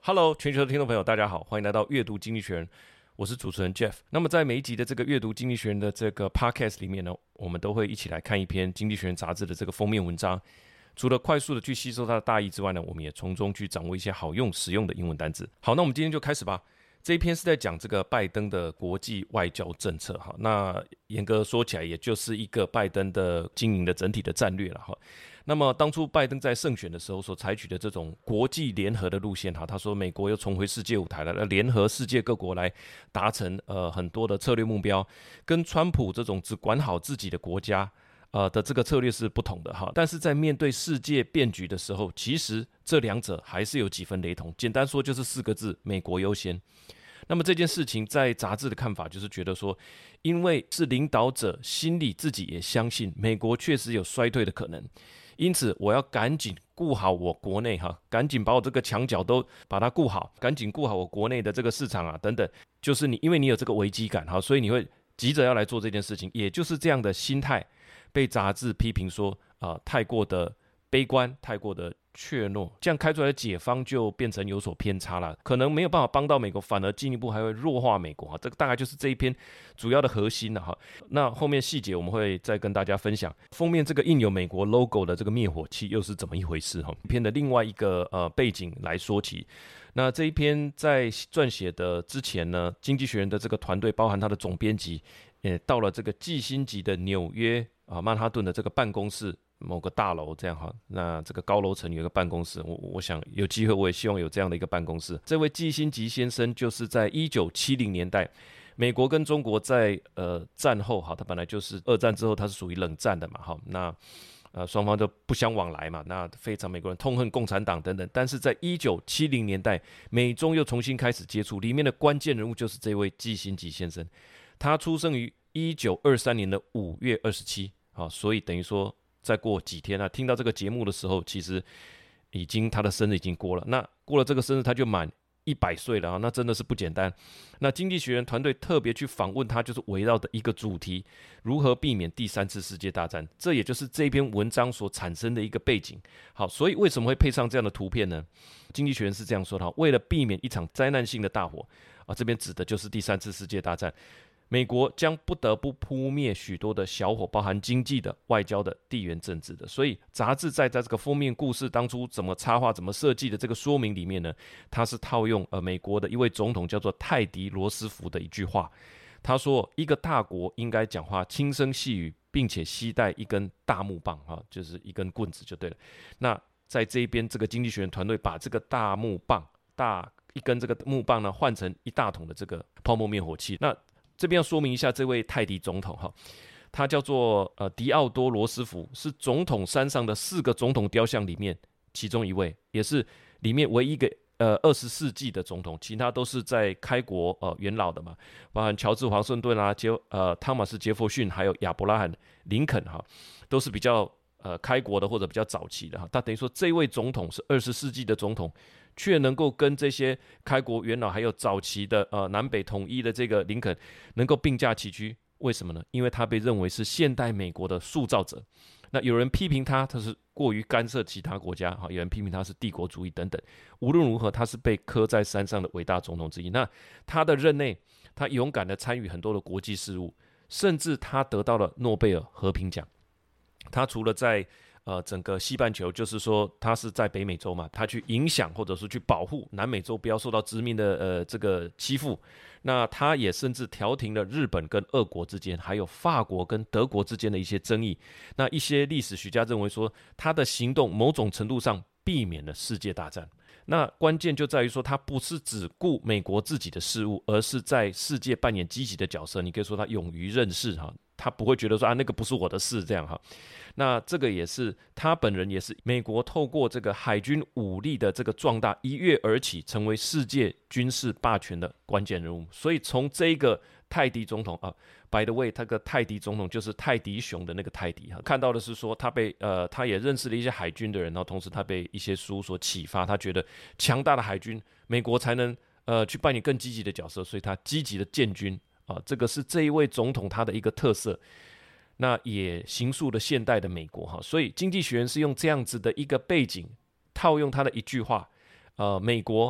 Hello， 全球的聽眾朋友，大家好，歡迎來到閱讀經濟學人，我是主持人 Jeff。那麼在每一集的這個閱讀經濟學人的這個 Podcast 裡面呢，我們都會一起來看一篇經濟學人雜誌的這個封面文章。除了快速的去吸收它的大意之外呢，我們也從中去掌握一些好用、實用的英文單字。好，那我們今天就開始吧。這一篇是在講這個拜登的國際外交政策哈。那嚴格說起來，也就是一個拜登的經營的整體的戰略了哈。那麼當初拜登在勝選的時候所採取的這種國際聯合的路線哈，他說美國又重回世界舞台了，要聯合世界各國來達成很多的策略目標，跟川普這種只管好自己的國家的這個策略是不同的哈。但是在面對世界變局的時候，其實這兩者還是有幾分雷同。簡單說就是4個字：美國優先。那麼這件事情在雜誌的看法就是覺得說，因為是領導者心裡自己也相信美國確實有衰退的可能，因此我要趕緊顧好我國內哈，趕緊把我這個牆角都把它顧好，趕緊顧好我國內的這個市場啊等等，就是因為你有這個危機感哈，所以你會急着要來做這件事情，也就是這樣的心態被雜誌批評說太過的悲觀，太過的怯懦，這樣開出來的解方就變成有所偏差了，可能沒有辦法幫到美國，反而進一步還會弱化美國哈。這個大概就是這一篇主要的核心了哈。那後面細節我們會再跟大家分享。封面這個印有美國 logo 的這個滅火器又是怎麼一回事哈？篇的另外一個背景來說起。那這一篇在撰寫的之前呢，經濟學人的這個團隊包含他的總編輯，也到了這個季辛吉的紐約曼哈頓的這個辦公室。某個大樓這樣哈，那這個高樓層有一個辦公室，我想有機會我也希望有這樣的一個辦公室。這位季辛吉先生就是在1970年代，美國跟中國在戰後哈，他本來就是二戰之後他是屬於冷戰的嘛哈，那雙方都不相往來嘛，那非常美國人痛恨共產黨等等。但是在1970年代，美中又重新開始接觸，裡面的關鍵人物就是這位季辛吉先生，他出生於1923年的5月27啊，所以等於說。再過幾天聽到這個節目的時候，其實他的生日已經過了。那過了這個生日，他就滿100歲了啊！那真的是不簡單。那經濟學人團隊特別去訪問他，就是圍繞的一個主題：如何避免第3次世界大戰。這也就是這篇文章所產生的一個背景。好，所以為什麼會配上這樣的圖片呢？經濟學人是這樣說的：為了避免一場災難性的大火這邊指的就是第3次世界大戰。美國將不得不撲滅許多的小火，包含經濟的、外交的、地緣政治的。所以雜誌在這個封面故事當初怎麼插畫、怎麼設計的這個說明裡面呢，它是套用美國的一位總統叫做泰迪羅斯福的一句話。他說：“一個大國應該講話輕聲細語，並且攜帶一根大木棒就是一根棍子就對了。”那在這一邊，這個經濟學人團隊把這個大木棒、一根這個木棒呢，換成一大桶的這個泡沫滅火器。那這邊要說明一下，這位泰迪總統哈，他叫做迪奧多羅斯福，是總統山上的4個總統雕像裡面其中一位，也是裡面唯一一個20世紀的總統，其他都是在開國元老的嘛，包含喬治華盛頓啊、湯馬斯傑弗遜，還有亞伯拉罕林肯哈，都是比較開國的或者比較早期的哈。他等於說這位總統是20世紀的總統，卻能夠跟這些開國元老還有早期的南北統一的這個林肯能夠並駕齊驅，為什麼呢？因為他被認為是現代美國的塑造者。那有人批評他是過於干涉其他國家，有人批評他是帝國主義等等。無論如何，他是被刻在山上的偉大總統之一。那他的任內，他勇敢地參與很多的國際事務，甚至他得到了諾貝爾和平獎。他除了在整個西半球，就是說他是在北美洲嘛，他去影響或者是去保護南美洲不要受到殖民的這個欺負。那他也甚至調停了日本跟俄國之間，還有法國跟德國之間的一些爭議。那一些歷史學家認為說，他的行動某種程度上避免了世界大戰。那關鍵就在於說，他不是只顧美國自己的事務，而是在世界扮演積極的角色。你可以說他勇於任事哈，他不會覺得說那個不是我的事這樣哈。那這個也是他本人，也是美國透過這個海軍武力的這個壯大，一躍而起，成為世界軍事霸權的關鍵人物。所以從這個泰迪總統by the way， 他個泰迪總統就是泰迪熊的那個泰迪哈，看到的是說他他也認識了一些海軍的人，然後同時他被一些書所啟發，他覺得強大的海軍，美國才能去扮演更積極的角色，所以他積極的建軍這個是這一位總統他的一個特色。那也形塑了現代的美國哈，所以經濟學人是用這樣子的一個背景，套用他的一句話，美國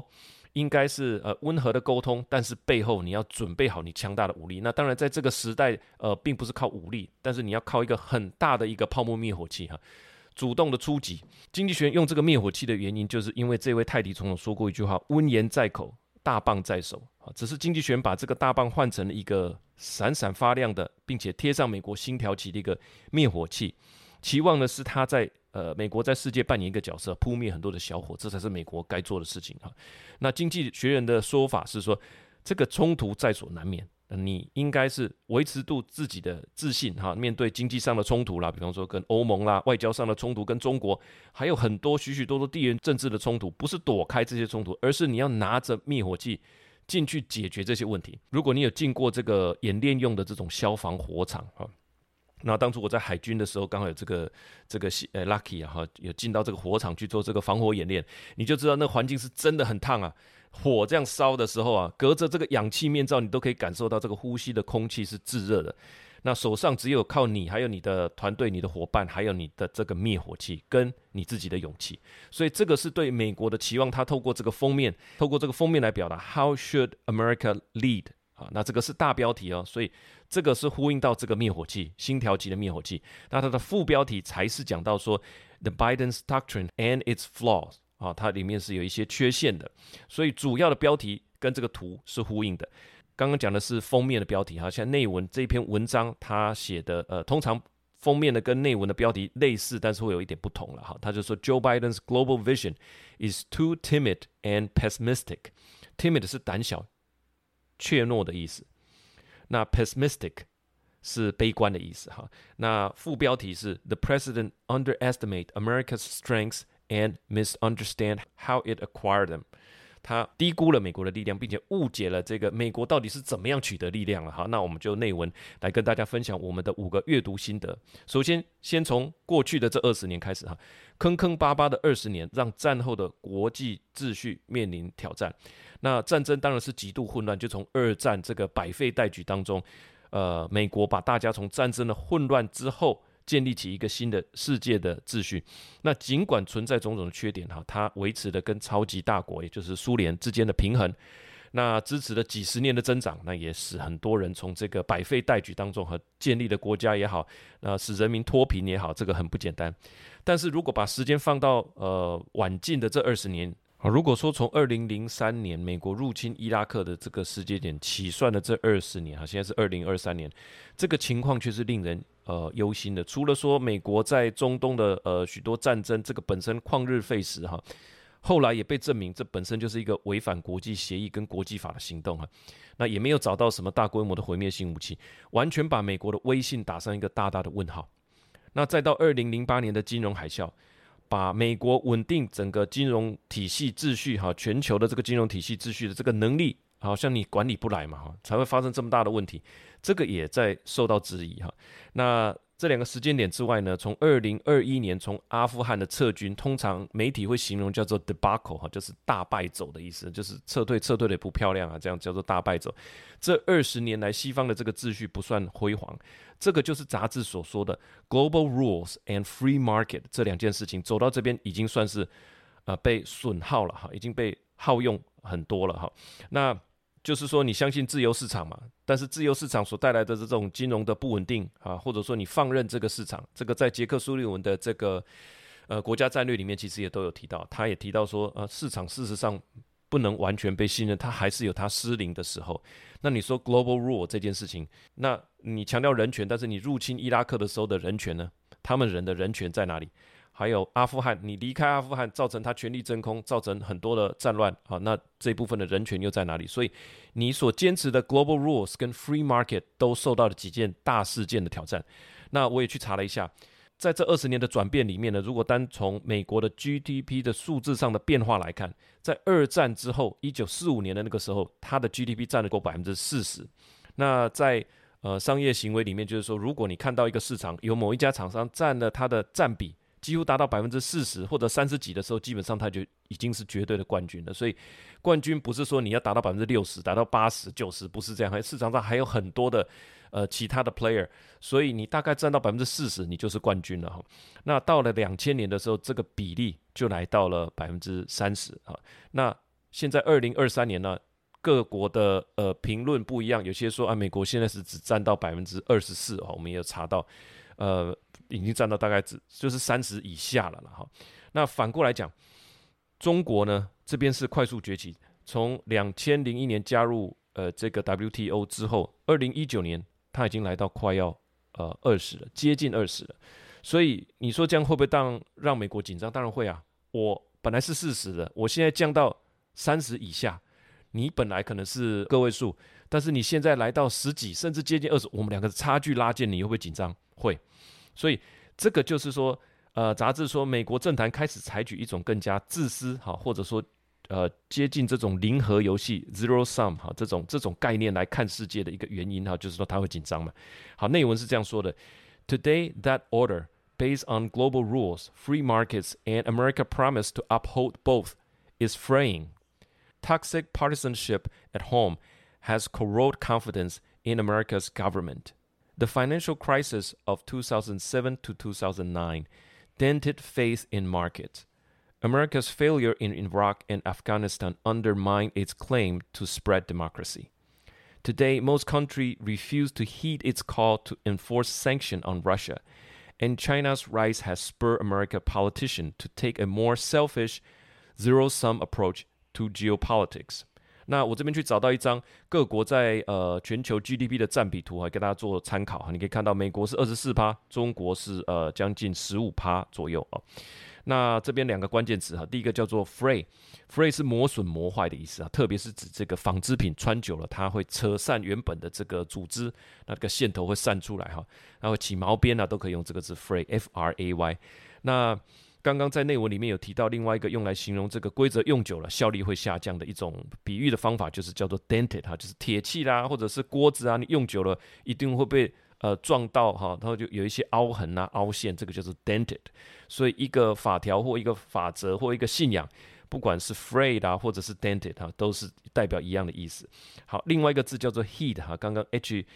應該是溫和的溝通，但是背後你要準備好你強大的武力。那當然在這個時代並不是靠武力，但是你要靠一個很大的一個泡沫滅火器主動的出擊。經濟學人用這個滅火器的原因，就是因為這位泰迪總統說過一句話：溫言在口，大棒在手。只是經濟學人把這個大棒換成了一個閃閃發亮的，並且貼上美國星條旗的一個滅火器，期望的是他在美國在世界扮演一個角色，撲滅很多的小火，這才是美國該做的事情。那經濟學人的說法是說，這個衝突在所難免，你應該是維持住自己的自信面對經濟上的衝突啦，比方說跟歐盟啦，外交上的衝突跟中國，還有很多許許多多地緣政治的衝突，不是躲開這些衝突，而是你要拿着滅火器進去解決這些問題。如果你有進過這個演練用的這種消防火場那當初我在海軍的時候，剛好有這個lucky 有進到這個火場去做這個防火演練，你就知道那環境是真的很燙啊。火這樣燒的時候隔着這個氧氣面罩，你都可以感受到這個呼吸的空氣是炙熱的。那手上只有靠你，還有你的團隊、你的夥伴，還有你的這個滅火器，跟你自己的勇氣。所以這個是對美國的期望，他透過這個封面來表達 How should America lead？那這個是大標題所以這個是呼應到這個滅火器，星條旗的滅火器。那它的副標題才是講到說 The Biden's Doctrine and its flaws 它裡面是有一些缺陷的，所以主要的標題跟這個圖是呼應的。剛剛講的是封面的標題像內文這篇文章他寫的通常封面的跟內文的標題類似，但是會有一點不同了他就說 Joe Biden's global vision is too timid and pessimistic。timid 是膽小怯懦的意思，那 pessimistic 是悲觀的意思那副標題是 The President underestimate America's strengths and misunderstand how it acquired them。他低估了美國的力量，並且誤解了這個美國到底是怎麼樣取得力量了。好，那我們就內文來跟大家分享我們的5個閱讀心得。首先，先從過去的這20年開始坑坑巴巴的20年，讓戰後的國際秩序面臨挑戰。那戰爭當然是極度混亂，就從二戰這個百廢待舉當中，美國把大家從戰爭的混亂之後，建立起一個新的世界的秩序。那儘管存在種種的缺點它維持了跟超級大國也就是蘇聯之間的平衡，那支持了幾十年的增長，那也使很多人從這個百廢待舉當中建立的國家也好，使人民脫貧也好，這個很不簡單。但是如果把時間放到晚近的這20年，如果說從2003年美國入侵伊拉克的這個時間點起算的這20年現在是2023年，這個情況卻是令人憂心的。除了說美國在中東的許多戰爭，這個本身曠日費時後來也被證明這本身就是一個違反國際協議跟國際法的行動那也沒有找到什麼大規模的毀滅性武器，完全把美国的威信打上一個大大的問號。那再到2008年的金融海嘯，把美國穩定整個金融體系秩序全球的這個金融體系秩序的這個能力，好像你管理不來嘛才會發生這麼大的問題，這個也在受到質疑那這2個時間點之外呢，從2021年從阿富汗的撤軍，通常媒體會形容叫做 debacle 就是大敗走的意思，就是撤退的也不漂亮這樣叫做大敗走。這20年來西方的這個秩序不算輝煌，這個就是雜誌所說的 global rules and free market 這2件事情走到這邊已經算是被損耗了已經被耗用很多了那就是說你相信自由市場嘛，但是自由市場所帶來的這種金融的不穩定或者說你放任這個市場，這個在傑克蘇利文的這個國家戰略裡面其實也都有提到，他也提到說市場事實上不能完全被信任，它還是有它失靈的时候。那你說 global rule 這件事情，那你強調人權，但是你入侵伊拉克的時候的人權呢？他們人的人權在哪裡？還有阿富汗，你離開阿富汗，造成他權力真空，造成很多的戰亂，那這一部分的人權又在哪裡？所以你所堅持的 global rules 跟 free market 都受到了幾件大事件的挑戰。那我也去查了一下，在這20年的轉變裡面呢，如果單從美國的 GDP 的數字上的變化來看，在二戰之後1945年的那個時候，它的 GDP 佔了夠40%。那在商業行為裡面，就是說，如果你看到一個市場有某一家廠商佔了它的佔比幾乎達到40%或者30幾的時候，基本上它就已經是絕對的冠軍了。所以冠軍不是說你要達到60%、達到80%、90%，不是這樣，市場上還有很多的其他的 player， 所以你大概佔到40%，你就是冠軍了。那到了2000年的時候，這個比例就來到了30%。那現在2023年呢，各國的評論不一樣，有些說啊，美國現在是只占到24%哦，我們也有查到，已經占到大概就是30以下了哈。那反過來講，中國呢這邊是快速崛起，從2001年加入這個 WTO 之後，2019年它已經來到快要20了，接近20了。所以你說這樣會不會讓美國緊張？當然會啊。我本來是40的，我現在降到30以下，你本來可能是個位數，但是你現在來到10幾，甚至接近20，我們兩個差距拉近，你會不會緊張？會。所以這個就是說，雜誌說美國政壇開始採取一種更加自私或者說接近這種零和遊戲 zero sum 這種概念來看世界的一個原因就是說他會緊張嘛。好，內文是這樣說的 ：Today that order based on global rules, free markets, and America's promise to uphold both is fraying. Toxic partisanship at home has corroded confidence in America's government. The financial crisis of 2007 to 2009 dented faith in markets. America's failure in Iraq and Afghanistan undermined its claim to spread democracy. Today, most countries refuse to heed its call to enforce sanctions on Russia, and China's rise has spurred American politicians to take a more selfish, zero-sum approach to geopolitics. 那我這邊去找到一張各國在全球 GDP 的占比圖，給大家做參考。你可以看到美國是24%，中國是將近15%左右啊。那這邊兩個關鍵詞哈，第一個叫做 fray 是磨損磨壞的意思啊，特別是指這個紡織品穿久了，它會扯散原本的這個組織，那個線頭會散出來哈，然後起毛邊啊，都可以用這個字 fray F-R-A-Y。那剛剛在內文裡面有提到另外一個用來形容這個規則用久了效力會下降的一種比喻的方法，就是叫做 dented 哈，就是鐵器啦，或者是鍋子啊，你用久了一定會被撞到哈，然後就有一些凹痕啊、凹陷，這個就是 dented。所以一個法條或一個法則或一個信仰，不管是 frayed 啊，或者是 dented 哈，都是代表一樣的意思。好，另外一個字叫做 heed 哈，剛剛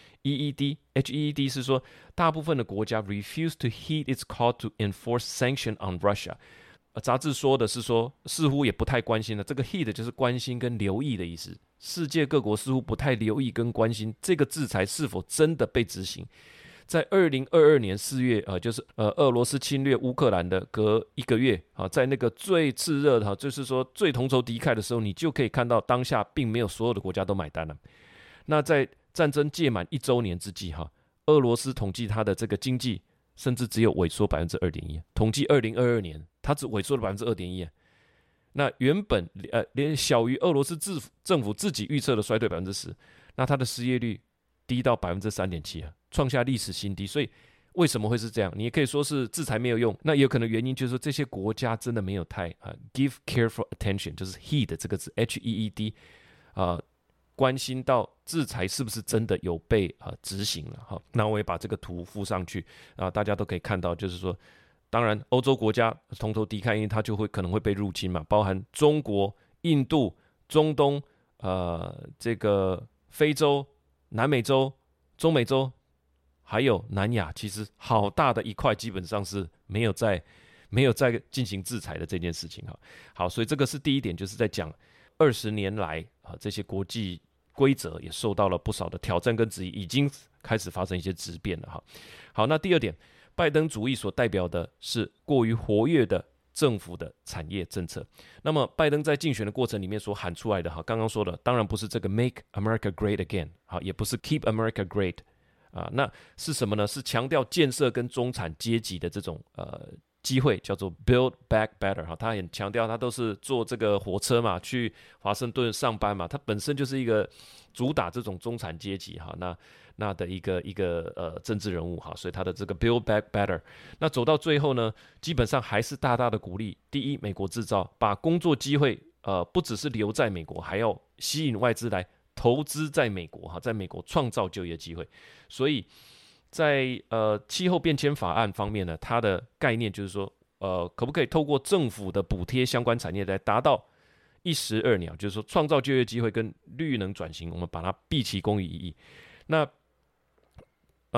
heed 是說大部分的國家 refuse to heed its call to enforce sanction on Russia。雜誌說的是說，似乎也不太關心了。這個 heed 就是關心跟留意的意思。世界各國似乎不太留意跟關心這個制裁是否真的被執行。在2022年4月就是俄羅斯侵略烏克蘭的隔1個月在那個最熾熱的就是說最同仇敵愾的時候，你就可以看到當下並沒有所有的國家都買單了。那在戰爭屆滿1週年之際俄羅斯統計它的這個經濟甚至只有萎縮 2.1%， 統計2022年它只萎縮了 2.1%。那原本連小於俄羅斯政府自己預測的衰退 10%， 那它的失業率低到 3.7%， 創下歷史新低。所以為什麼會是這樣？你也可以說是制裁沒有用，那也有可能原因就是說這些國家真的沒有太give careful attention， 就是 heed 這個字 H-E-E-D 關心到制裁是不是真的有被執行了。那我也把這個圖附上去大家都可以看到，就是說當然歐洲國家同仇敵愾，因為它就會可能會被入侵嘛，包含中國、印度、中東這個非洲、南美洲、中美洲還有南亞，其實好大的一塊基本上是沒有在進行制裁的這件事情。好，所以這個是第一點，就是在講20年來這些國際規則也受到了不少的挑戰跟質疑，已經開始發生一些質變了。好，那第二點，拜登主義所代表的是過於活躍的政府的產業政策。那麼拜登在競選的過程裡面所喊出來的剛剛說的當然不是這個 Make America Great Again， 也不是 Keep America Great，那是什麼呢？是強調建設跟中產階級的這種機會，叫做 Build Back Better。他很強調，他都是坐這個火車嘛，去華盛頓上班嘛，他本身就是一個主打這種中產階級那的一個政治人物所以他的這個 Build Back Better， 那走到最後呢，基本上還是大大的鼓勵第一美國製造，把工作機會不只是留在美國，還要吸引外資來投資在美國在美國創造就業機會。所以在氣候變遷法案方面呢，它的概念就是說可不可以透過政府的補貼相關產業來達到一石二鳥，就是說創造就業機會跟綠能轉型，我們把它畢其功於一役。那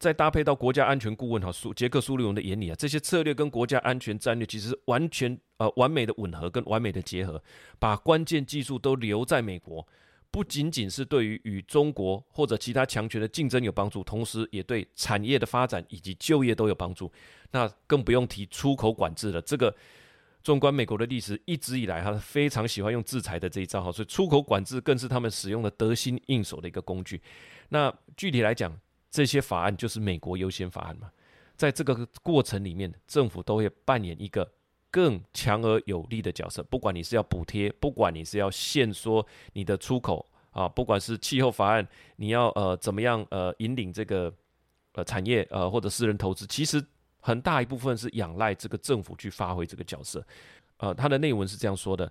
再搭配到國家安全顧問傑克蘇利文的眼裡啊，這些策略跟國家安全戰略其實是完全完美的吻合跟完美的結合，把關鍵技術都留在美國，不僅僅是對於與中國或者其他強權的競爭有幫助，同時也對產業的發展以及就業都有幫助。那更不用提出口管制了，這個縱觀美國的歷史，一直以來他非常喜歡用制裁的這一招，所以出口管制更是他們使用的得心應手的一個工具。那具體來講，這些法案就是美國優先法案嘛，在這個過程裡面，政府都會扮演一個更強而有力的角色。不管你是要補貼，不管你是要限縮你的出口啊，不管是氣候法案，你要怎麼樣引領這個產業或者私人投資，其實很大一部分是仰賴這個政府去發揮這個角色。它的內文是這樣說的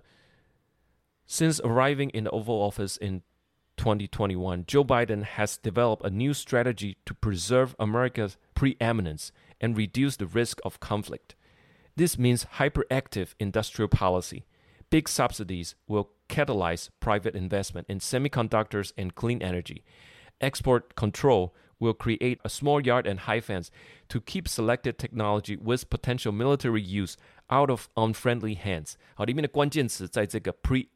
：Since arriving in the Oval Office in 2021, Joe Biden has developed a new strategy to preserve America's preeminence and reduce the risk of conflict. This means hyperactive industrial policy. Big subsidies will catalyze private investment in semiconductors and clean energy. Export control will create a small yard and high fence to keep selected technology with potential military use out of unfriendly hands. 好，裡面的關鍵詞在這個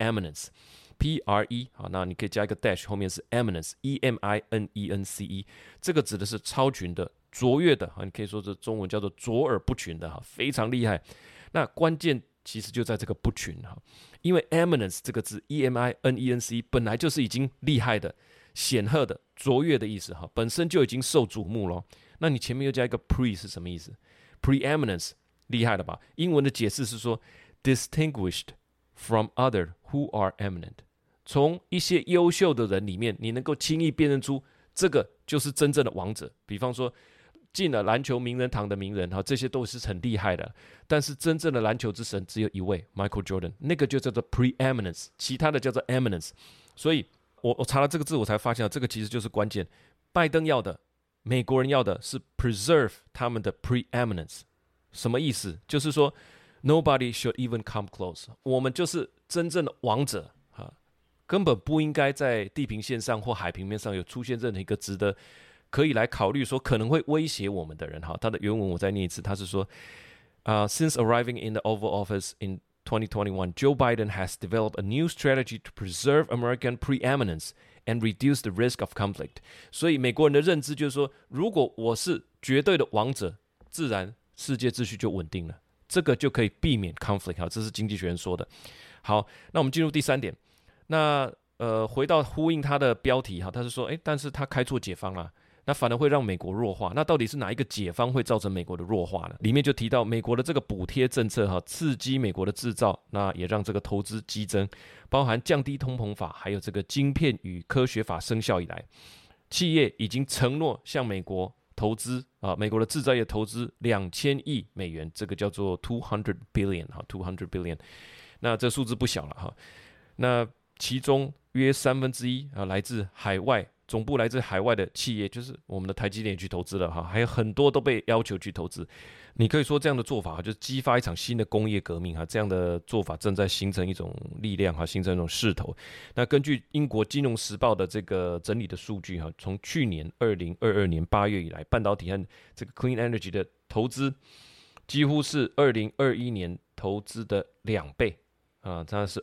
preeminence。P-R-E 好，那你可以加一個 dash， 後面是 eminence E-M-I-N-E-N-C-E， 這個指的是超群的、卓越的，你可以說這中文叫做卓爾不群的，非常厲害。那關鍵其實就在這個不群，因為 eminence 這個字 E-M-I-N-E-N-C-E 本來就是已經厲害的、顯赫的、卓越的意思，本身就已經受矚目了。那你前面又加一個 pre 是什麼意思？ Preeminence 厲害了吧？英文的解釋是說 distinguished from other who are eminent。從一些優秀的人裡面，你能夠輕易辨認出這個就是真正的王者。比方說，進了籃球名人堂的名人，這些都是很厲害的。但是真正的籃球之神只有一位 ，Michael Jordan， 那個就叫做 preeminence， 其他的叫做 eminence。所以我查了這個字，我才發現這個其實就是關鍵。拜登要的，美國人要的是 preserve 他們的 preeminence， 什麼意思？就是說 nobody should even come close， 我們就是真正的王者。根本不應該在地平線上或海平面上有出現任何一個值得可以來考慮說可能會威脅我們的人。他的原文我再念一次，他是說，Since arriving in the Oval Office in 2021, Joe Biden has developed a new strategy to preserve American preeminence and reduce the risk of conflict。所以美國人的認知就是說，如果我是絕對的王者，自然世界秩序就穩定了，這個就可以避免 conflict。這是經濟學人說的。好，那我們進入第三點。那回到呼應他的標題他是說，但是他開錯解方啦，那反而會讓美國弱化。那到底是哪一個解方會造成美國的弱化呢？裡面就提到美國的這個補貼政策刺激美國的製造，那也讓這個投資激增，包含降低通膨法，還有這個晶片與科學法生效以來，企業已經承諾向美國投資美國的製造業投資2000億美元，這個叫做200 billion，200 billion， 那這數字不小了那其中約1/3來自海外，總部來自海外的企業，就是我們的台積電也去投資了還有很多都被要求去投資。你可以說這樣的做法就是激發一場新的工業革命這樣的做法正在形成一種力量形成一種勢頭。那根據英國金融時報的這個整理的數據從去年2022年8月以來，半導體和這個 clean energy 的投資幾乎是2021年投資的2倍。它是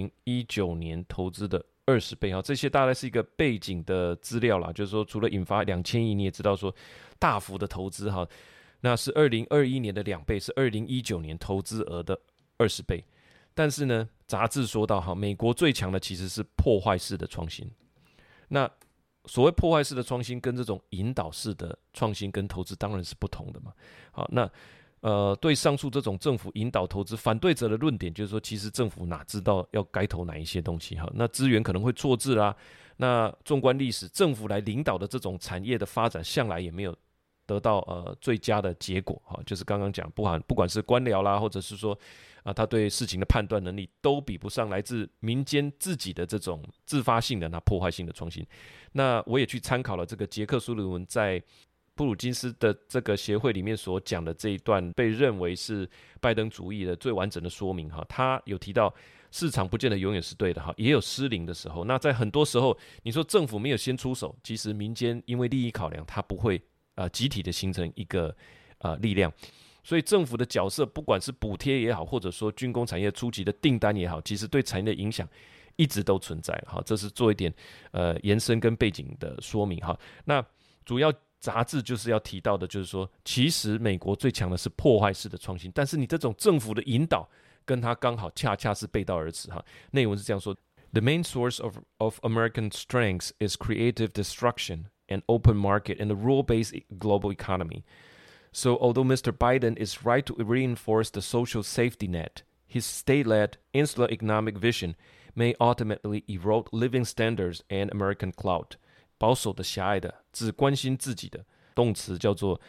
2019年投資的20倍這些大概是一個背景的資料啦，就是說除了引發2000億，你也知道說大幅的投資那是2021年的2倍，是2019年投資額的20倍。但是呢，雜誌說到美國最強的其實是破壞式的創新。那所謂破壞式的創新跟這種引導式的創新跟投資當然是不同的嘛。好，那對上述這種政府引導投資，反對者的論點就是說，其實政府哪知道要該投哪一些東西那資源可能會錯置啦。那縱觀歷史，政府來領導的這種產業的發展，向來也沒有得到最佳的結果就是剛剛講，不管是官僚啦，或者是說他對事情的判斷能力，都比不上來自民間自己的這種自發性的破壞性的創新。那我也去參考了這個傑克蘇利文在布魯金斯的這個協會裡面所講的這一段，被認為是拜登主義的最完整的說明他有提到市場不見得永遠是對的也有失靈的時候。那在很多時候，你說政府沒有先出手，其實民間因為利益考量，他不會集體的形成一個力量。所以政府的角色，不管是補貼也好，或者說軍工產業初期的訂單也好，其實對產業的影響一直都存在。好，這是做一點延伸跟背景的說明哈。那主要雜誌就是要提到的，就是說，其實美國最強的是破壞式的創新，但是你這種政府的引導，跟它剛好恰恰是背道而馳哈。內文是這樣說 ：The main source of American strength is creative destruction and open market and the rule-based global economy. So although Mr. Biden is right to reinforce the social safety net, his state-led insular economic vision may ultimately erode living standards and American clout. 保守的、狹隘的、只關心自己的，動詞叫做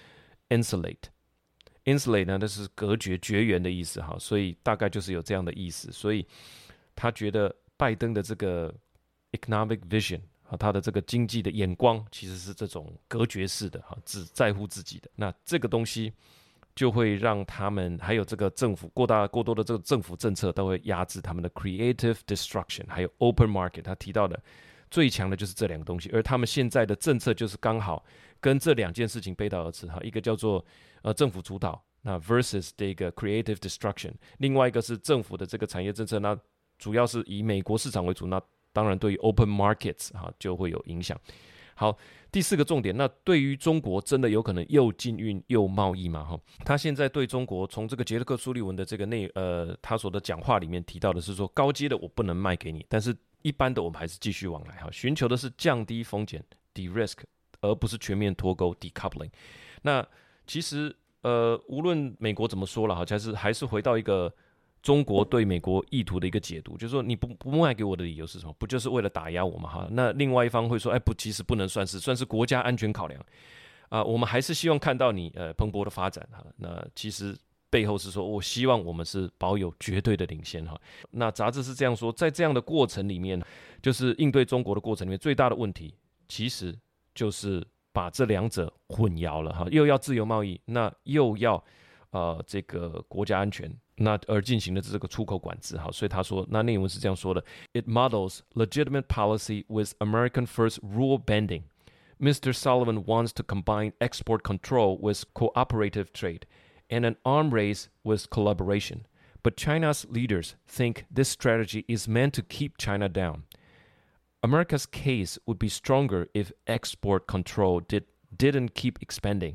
insulate。insulate 呢，那是隔絕、絕緣的意思哈，所以大概就是有這樣的意思。所以他覺得拜登的這個 economic vision。他的這個經濟的眼光其實是這種隔絕式的，只在乎自己的。那這個東西就會讓他們還有這個政府過多的這個政府政策都會壓制他們的 creative destruction， 還有 open market。他提到的最強的就是這兩個東西，而他們現在的政策就是剛好跟這兩件事情背道而馳。一個叫做政府主導，那 versus 這個 creative destruction， 另外一個是政府的這個產業政策，那主要是以美國市場為主，那當然，對於 open markets 就會有影響。好，第四個重點，那對於中國真的有可能又禁運又貿易嗎？他現在對中國從這個傑克·蘇利文的這個他所的講話裡面提到的是說，高階的我不能賣給你，但是一般的我們還是繼續往來，尋求的是降低風險 de-risk， 而不是全面脫鈎 decoupling。那其實無論美國怎麼說了，還是回到一個中國對美國意圖的一個解讀，就是說你不賣給我的理由是什麼？不就是為了打壓我嗎？哈，那另外一方會說，不，其實不能算是國家安全考量我們還是希望看到你蓬勃的發展哈。那其實背後是說，我希望我們是保有絕對的領先哈。那雜誌是這樣說，在這樣的過程裡面，就是應對中國的過程裡面，最大的問題其實就是把這兩者混淆了哈，又要自由貿易，那又要這個國家安全。那而進行的這個出口管制，好，所以他說，那內文是這樣說的 ：It models legitimate policy with American first rule bending. Mr. Sullivan wants to combine export control with cooperative trade, and an arms race with collaboration. But China's leaders think this strategy is meant to keep China down. America's case would be stronger if export control didn't keep expanding.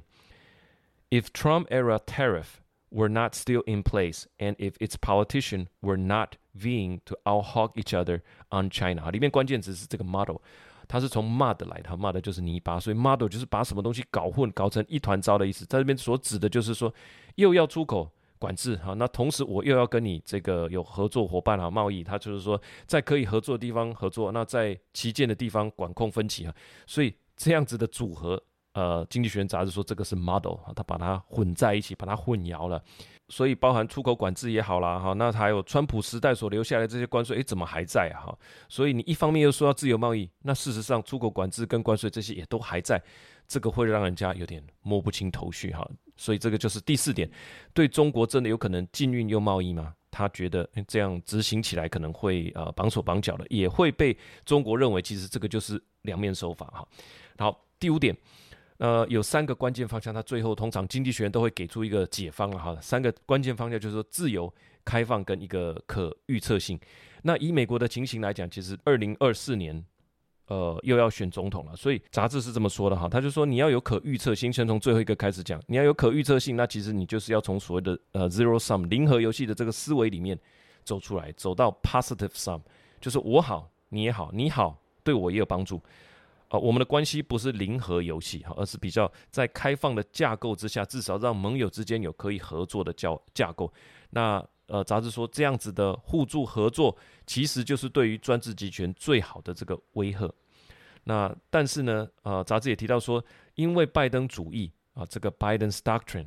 If Trump-era tariff were not still in place, and if its politicians were not vying to out-hog each other on China， 裡面關鍵詞是這個 model， 它是從 mud 來的 ，mud 就是泥巴，所以 model 就是把什麼東西搞成一團糟的意思。在這邊所指的就是說，又要出口管制，那同時我又要跟你這個有合作夥伴貿易，它就是說在可以合作的地方合作，那在旗艦的地方管控分歧，所以這樣子的組合。經濟學人雜誌說這個是 model， 他把它混在一起，把它混淆了，所以包含出口管制也好啦，那還有川普時代所留下來的這些關稅，怎麼還在啊？所以你一方面又說要自由貿易，那事實上出口管制跟關稅這些也都還在，這個會讓人家有點摸不清頭緒哈。所以這個就是第四點，對中國真的有可能禁運又貿易嗎？他覺得這樣執行起來可能會綁手綁腳的，也會被中國認為其實這個就是兩面手法哈。好，第五點。有三個關鍵方向，它最後通常經濟學人都會給出一個解方了哈。三個關鍵方向就是說自由、開放跟一個可預測性。那以美國的情形來講，其實2024年又要選總統了，所以雜誌是這麼說的哈。他就說你要有可預測性，先從最後一個開始講，你要有可預測性，那其實你就是要從所謂的zero sum 零和遊戲的這個思維裡面走出來，走到 positive sum， 就是我好你也好，你好對我也有幫助。我們的關係不是零和遊戲，而是比較在開放的架構之下，至少讓盟友之間有可以合作的架構。那雜誌說這樣子的互助合作，其實就是對於專制集權最好的這個威嚇。那但是呢，雜誌也提到說，因為拜登主義這個 Biden's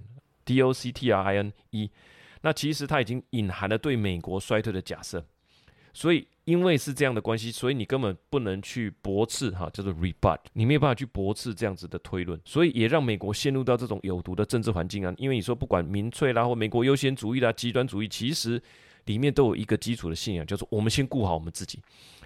Doctrine，DOCTRINE，那其實它已經隱含了對美國衰退的假設。所以，因為是這樣的關係，所以你根本不能去駁斥叫做 rebut， 你沒有辦法去駁斥這樣子的推論，所以也讓美國陷入到這種有毒的政治環境啊。因為你說不管民粹啦，或美國優先主義啦、極端主義，其實裡面都有一個基礎的信仰，叫做我們先顧好我們自己。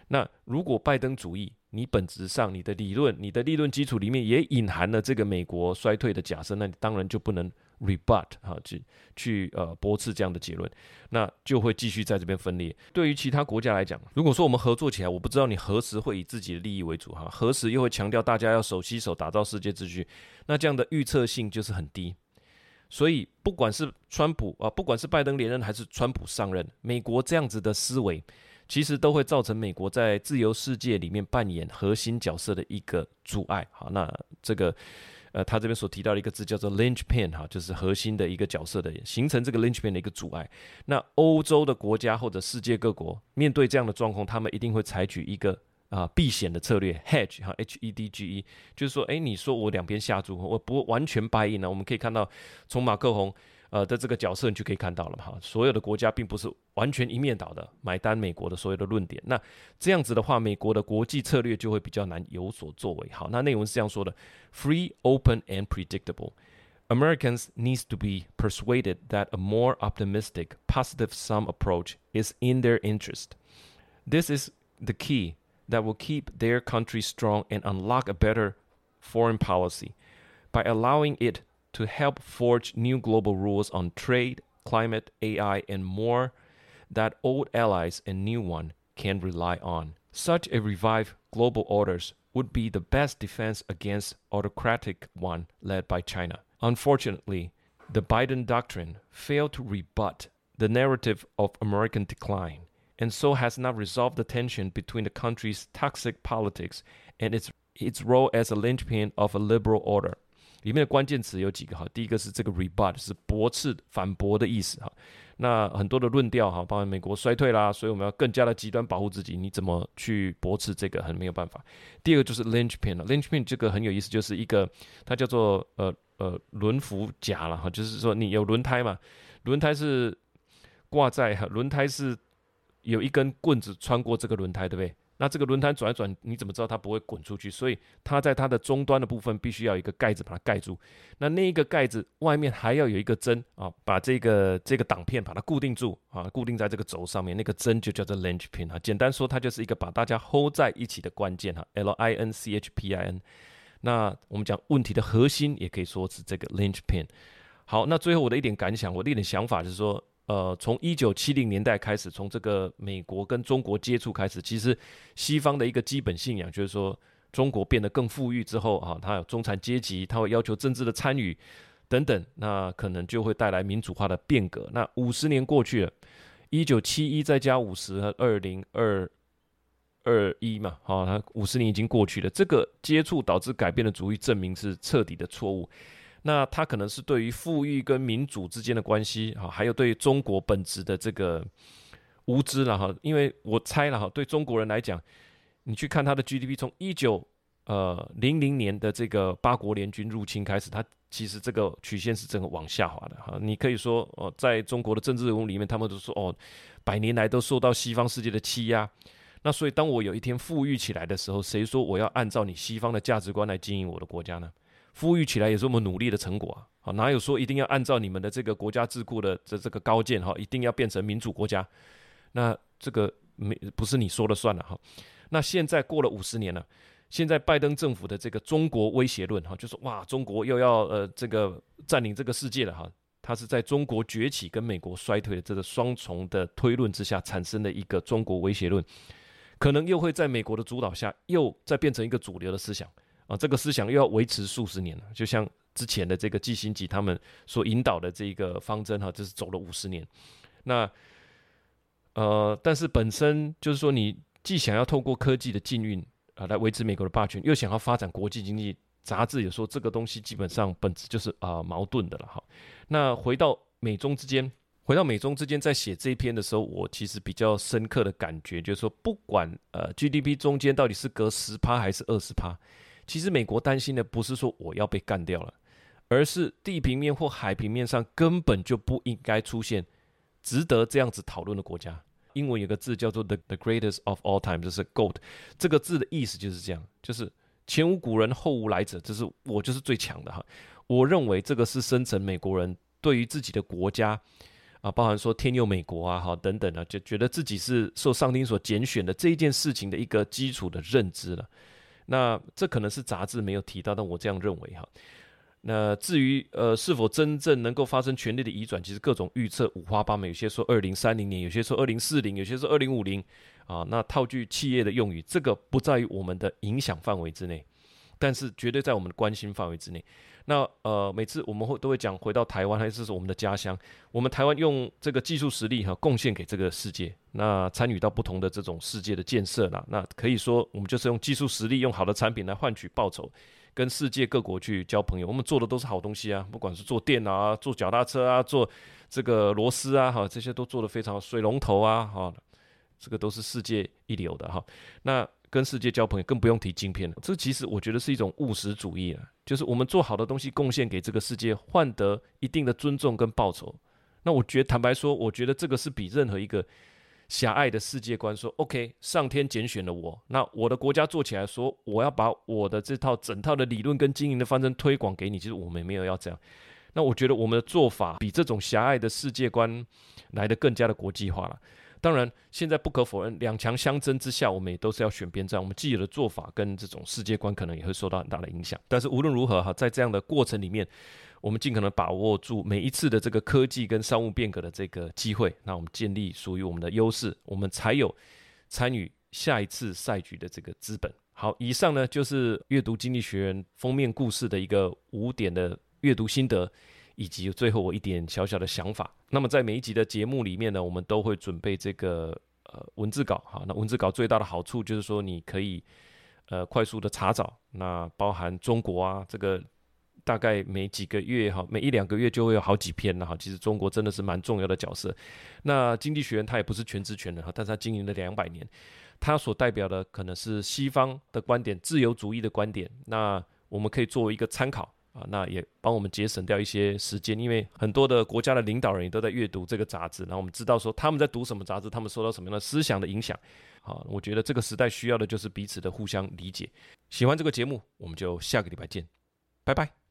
那如果拜登主義，你本質上你的理論基礎裡面也隱含了這個美國衰退的假設，那你當然就不能 rebut 去駁斥這樣的結論，那就會繼續在這邊分裂。對於其他國家來講，如果說我們合作起來，我不知道你何時會以自己的利益為主哈，何時又會強調大家要手攜手打造世界秩序，那這樣的預測性就是很低。所以不管是不管是拜登連任還是川普上任，美國這樣子的思維，其實都會造成美國在自由世界裡面扮演核心角色的一個阻礙。好，那這個他這邊所提到的一個字叫做 linchpin 哈，就是核心的一個角色的形成這個 linchpin 的一個阻礙。那歐洲的國家或者世界各國面對這樣的狀況，他們一定會採取一個避險的策略 hedge 哈 HEDGE， 就是說，你說我兩邊下注，我不完全 buy in 呢。我們可以看到，從馬克宏的這個角色，你就可以看到了哈，所有的國家並不是完全一面倒的買單美國的所有的論點。那這樣子的話，美國的國際策略就會比較難有所作為。好，那內文是這樣說的 ：Free, open, and predictable. Americans need to be persuaded that a more optimistic, positive-sum approach is in their interest. This is the key that will keep their country strong and unlock a better foreign policy by allowing it to help forge new global rules on trade, climate, AI, and more that old allies and new ones can rely on. Such a revived global orders would be the best defense against autocratic one led by China. Unfortunately, the Biden doctrine failed to rebut the narrative of American decline.And so has not resolved the tension between the country's toxic politics and its role as a linchpin of a liberal order. 裡面的關鍵詞有幾個哈，第一個是這個 rebut 是駁斥、反駁的意思哈。那很多的論調哈，包括美國衰退啦，所以我們要更加的極端保護自己，你怎麼去駁斥這個很沒有辦法。第二個就是 linchpin 這個很有意思，就是一個它叫做輪輻夾了哈，就是說你有輪胎嘛，輪胎是掛在輪胎是有一根棍子穿過這個輪胎，對不對？那這個輪胎轉一轉，你怎麼知道它不會滾出去？所以它在它的終端的部分必須要有一個蓋子把它蓋住。那一個蓋子外面還要有一個針啊，把這個擋片把它固定住啊，固定在這個軸上面。那個針就叫做 linchpin 啊。簡單說，它就是一個把大家 hold 在一起的關鍵哈 ，linchpin。那我們講問題的核心，也可以說是這個 linchpin。好，那最後我的一點感想，我的一點想法就是說。從1970年代開始，從這個美國跟中國接觸開始，其實西方的一個基本信仰就是說，中國變得更富裕之後啊，它有中產階級，它會要求政治的參與等等，那可能就會帶來民主化的變革。那50年過去了，1971再加50和2021嘛，好，它50年已經過去了，這個接觸導致改變的主義，證明是徹底的錯誤。那它可能是對於富裕跟民主之間的關係，還有對於中國本質的這個無知了哈。因為我猜了哈，對中國人來講，你去看它的 GDP， 從1900年的這個八國聯軍入侵開始，它其實這個曲線是整個往下滑的哈。你可以說在中國的政治人物裡面，他們都說100年來都受到西方世界的欺壓。那所以當我有一天富裕起來的時候，誰說我要按照你西方的價值觀來經營我的國家呢？富裕起來也是我們努力的成果啊！哪有說一定要按照你們的這個國家智庫的這個高見哈，一定要變成民主國家？那這個不是你說了算了哈。那現在過了50年了，現在拜登政府的這個中國威脅論哈，就說哇，中國又要這個佔領這個世界了哈。它是在中國崛起跟美國衰退的這個雙重的推論之下產生的一個中國威脅論，可能又會在美國的主導下又再變成一個主流的思想。這個思想又要維持數十年了，就像之前的這個季辛吉他們所引導的這個方針哈，這是走了50年。那但是本身就是說，你既想要透過科技的禁運來維持美國的霸權，又想要發展國際經濟，雜誌也說這個東西基本上本質就是矛盾的了哈。那回到美中之間在寫這一篇的時候，我其實比較深刻的感覺就是說，不管GDP 中間到底是隔10%還是20%。其實美國擔心的不是說我要被幹掉了，而是地平面或海平面上根本就不應該出現值得這樣子討論的國家。英文有個字叫做 the greatest of all time， 就是 GOAT， 這個字的意思就是這樣，就是前無古人後無來者，就是我就是最強的哈。我認為這個是深層美國人對於自己的國家啊，包含說天佑美國啊，好等等啊，就覺得自己是受上帝所揀選的這一件事情的一個基礎的認知了。那這可能是雜誌沒有提到，但我這樣認為哈。那至於是否真正能夠發生權力的移轉，其實各種預測五花八門，有些說2030年，有些說2040，有些說2050啊。那套句企業的用語，這個不在於我們的影響範圍之內，但是絕對在我們的關心範圍之內。那每次我們都會講回到台灣，還是我們的家鄉，我們台灣用這個技術實力貢獻給這個世界，那參與到不同的這種世界的建設啦。那可以說我們就是用技術實力，用好的產品來換取報酬，跟世界各國去交朋友。我們做的都是好東西啊，不管是做電腦啊，做腳踏車啊，做這個螺絲啊，這些都做得非常好。水龍頭啊，這個都是世界一流的哈。那跟世界交朋友，更不用提晶片了。這其實我覺得是一種務實主義啊，就是我們做好的東西貢獻給這個世界，換得一定的尊重跟報酬。那我覺得坦白說，我覺得這個是比任何一個狹隘的世界觀說 OK， 上天揀選了我，那我的國家做起來說我要把我的這套整套的理論跟經營的方針推廣給你，其實我們沒有要這樣。那我覺得我們的做法比這種狹隘的世界觀來得更加的國際化了。當然，現在不可否認，兩強相爭之下，我們也都是要選邊站。我們既有的做法跟這種世界觀可能也會受到很大的影響。但是無論如何哈，在這樣的過程裡面，我們盡可能把握住每一次的這個科技跟商務變革的這個機會，那我們建立屬於我們的優勢，我們才有參與下一次賽局的這個資本。好，以上呢就是閱讀經濟學人封面故事的一個5點的閱讀心得，以及最後我一點小小的想法。那麼在每一集的節目裡面呢，我們都会準備這個文字稿。好，那文字稿最大的好處就是說你可以快速的查找，那包含中國啊，这個大概每幾個月哈，每1-2個月就會有好幾篇了哈。其實中國真的是蠻重要的角色。那經濟學人他也不是全知全能哈，但是他經營了200年，他所代表的可能是西方的觀點，自由主義的觀點。那我們可以作為一個參考。那也幫我們節省掉一些時間，因為很多的國家的領導人也都在閱讀這個雜誌，然後我們知道說他們在讀什麼雜誌，他們受到什麼樣的思想的影響。好，我覺得這個時代需要的就是彼此的互相理解。喜歡這個節目，我們就下個禮拜見，拜拜。